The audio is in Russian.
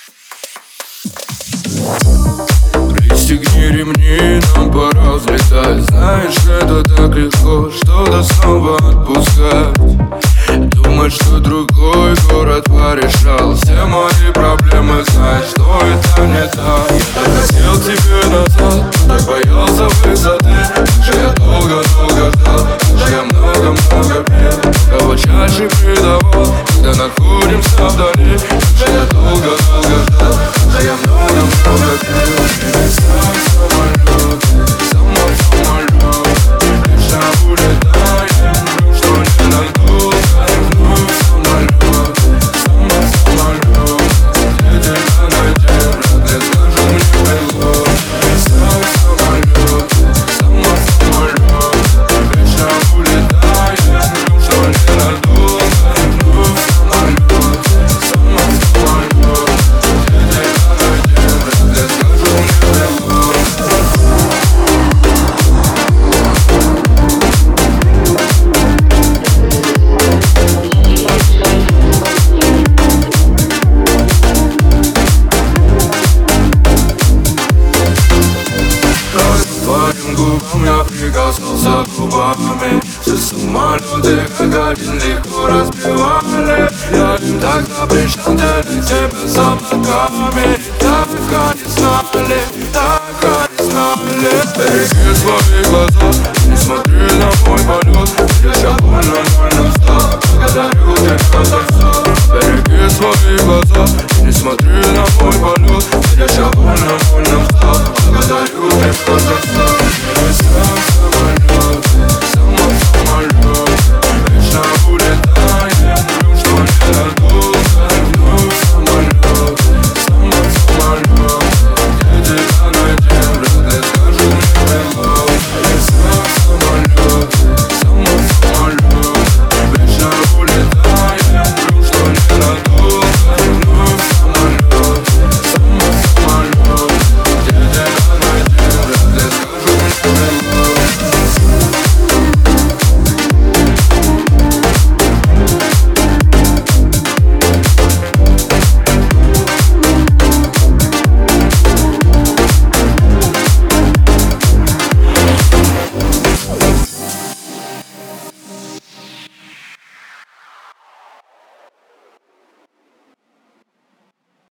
Пристегни ремни, нам пора взлетать. Знаешь, это так легко, что-то снова отпускать. Думать, что другой город порешал все мои проблемы, знать, что это не так. Я так хотел тебе назад, так боялся высоты. Же я долго-долго ждал, же я много-много пил. Кого чаще предавал, когда находимся вдали. Же я долго-долго ждал, же я много-много пил. Самолет, самолет, лишь улетаем, что ненадолго. Вновь самолет, самолет, где тебя найдем, родные, скажи мне hello. Самолет, самолет, лишь улетаем, что ненадолго. Вновь самолет, самолет, где тебя найдем, родные, скажи мне hello. Твоим губам я прикоснулся губами. Все самолеты как один легко разбивали. Я им так запрещал делить тебя с облаками. Так они знали, так они знали. Береги свои глаза, не смотри на мой полет. Я больно устал, благодарю тебя за все. Береги свои глаза, не смотри на мой полет.